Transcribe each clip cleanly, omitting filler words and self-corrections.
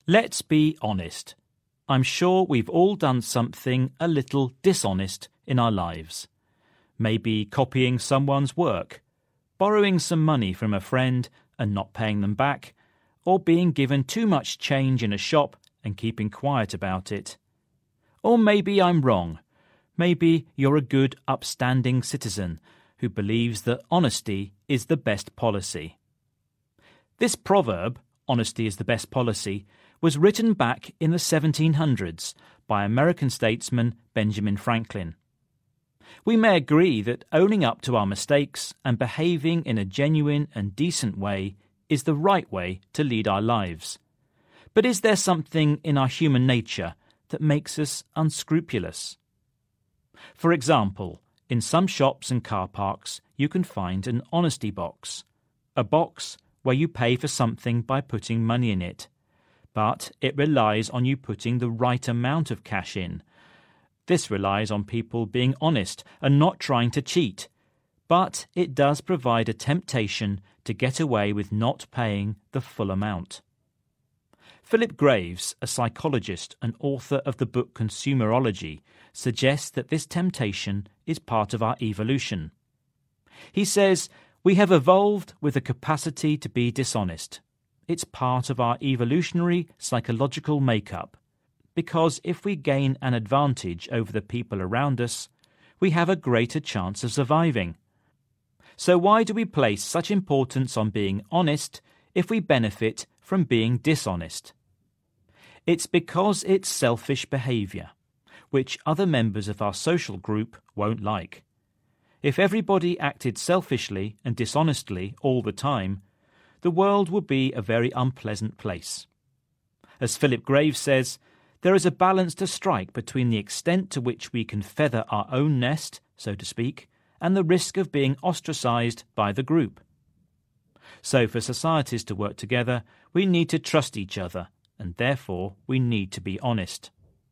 Let's be honest. I'm sure we've all done something a little dishonest in our lives. Maybe copying someone's work, borrowing some money from a friend and not paying them back, or being given too much change in a shop and keeping quiet about it. Or maybe I'm wrong. Maybe you're a good, upstanding citizen who believes that honesty is the best policy. This proverb, honesty is the best policy, was written back in the 1700s by American statesman Benjamin Franklin. We may agree that owning up to our mistakes and behaving in a genuine and decent way is the right way to lead our lives. But is there something in our human nature that makes us unscrupulous? For example, in some shops and car parks you can find an honesty box, a box where you pay for something by putting money in it, but it relies on you putting the right amount of cash in. This relies on people being honest and not trying to cheat, but it does provide a temptation to get away with not paying the full amount. Philip Graves, a psychologist and author of the book Consumerology, suggests that this temptation is part of our evolution. He says, "We have evolved with the capacity to be dishonest. It's part of our evolutionary psychological makeup, because if we gain an advantage over the people around us, we have a greater chance of surviving. So why do we place such importance on being honest if we benefit from being dishonest? It's because it's selfish behaviour, which other members of our social group won't like. If everybody acted selfishly and dishonestly all the time, the world would be a very unpleasant place. As Philip Graves says, there is a balance to strike between the extent to which we can feather our own nest, so to speak, and the risk of being ostracised by the group. So for societies to work together, we need to trust each other, and therefore we need to be honest.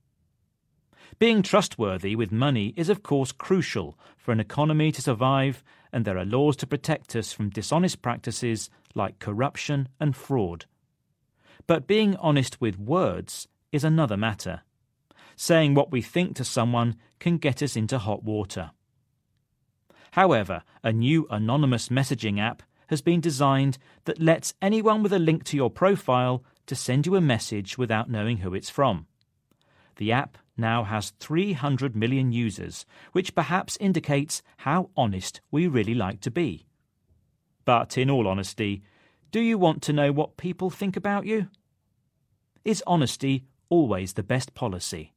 Being trustworthy with money is of course crucial for an economy to survive, and there are laws to protect us from dishonest practices like corruption and fraud. But being honest with words is another matter. Saying what we think to someone can get us into hot water. However, a new anonymous messaging app has been designed that lets anyone with a link to your profile to send you a message without knowing who it's from. The app now has 300 million users, which perhaps indicates how honest we really like to be. But in all honesty, do you want to know what people think about you? Is honesty always the best policy?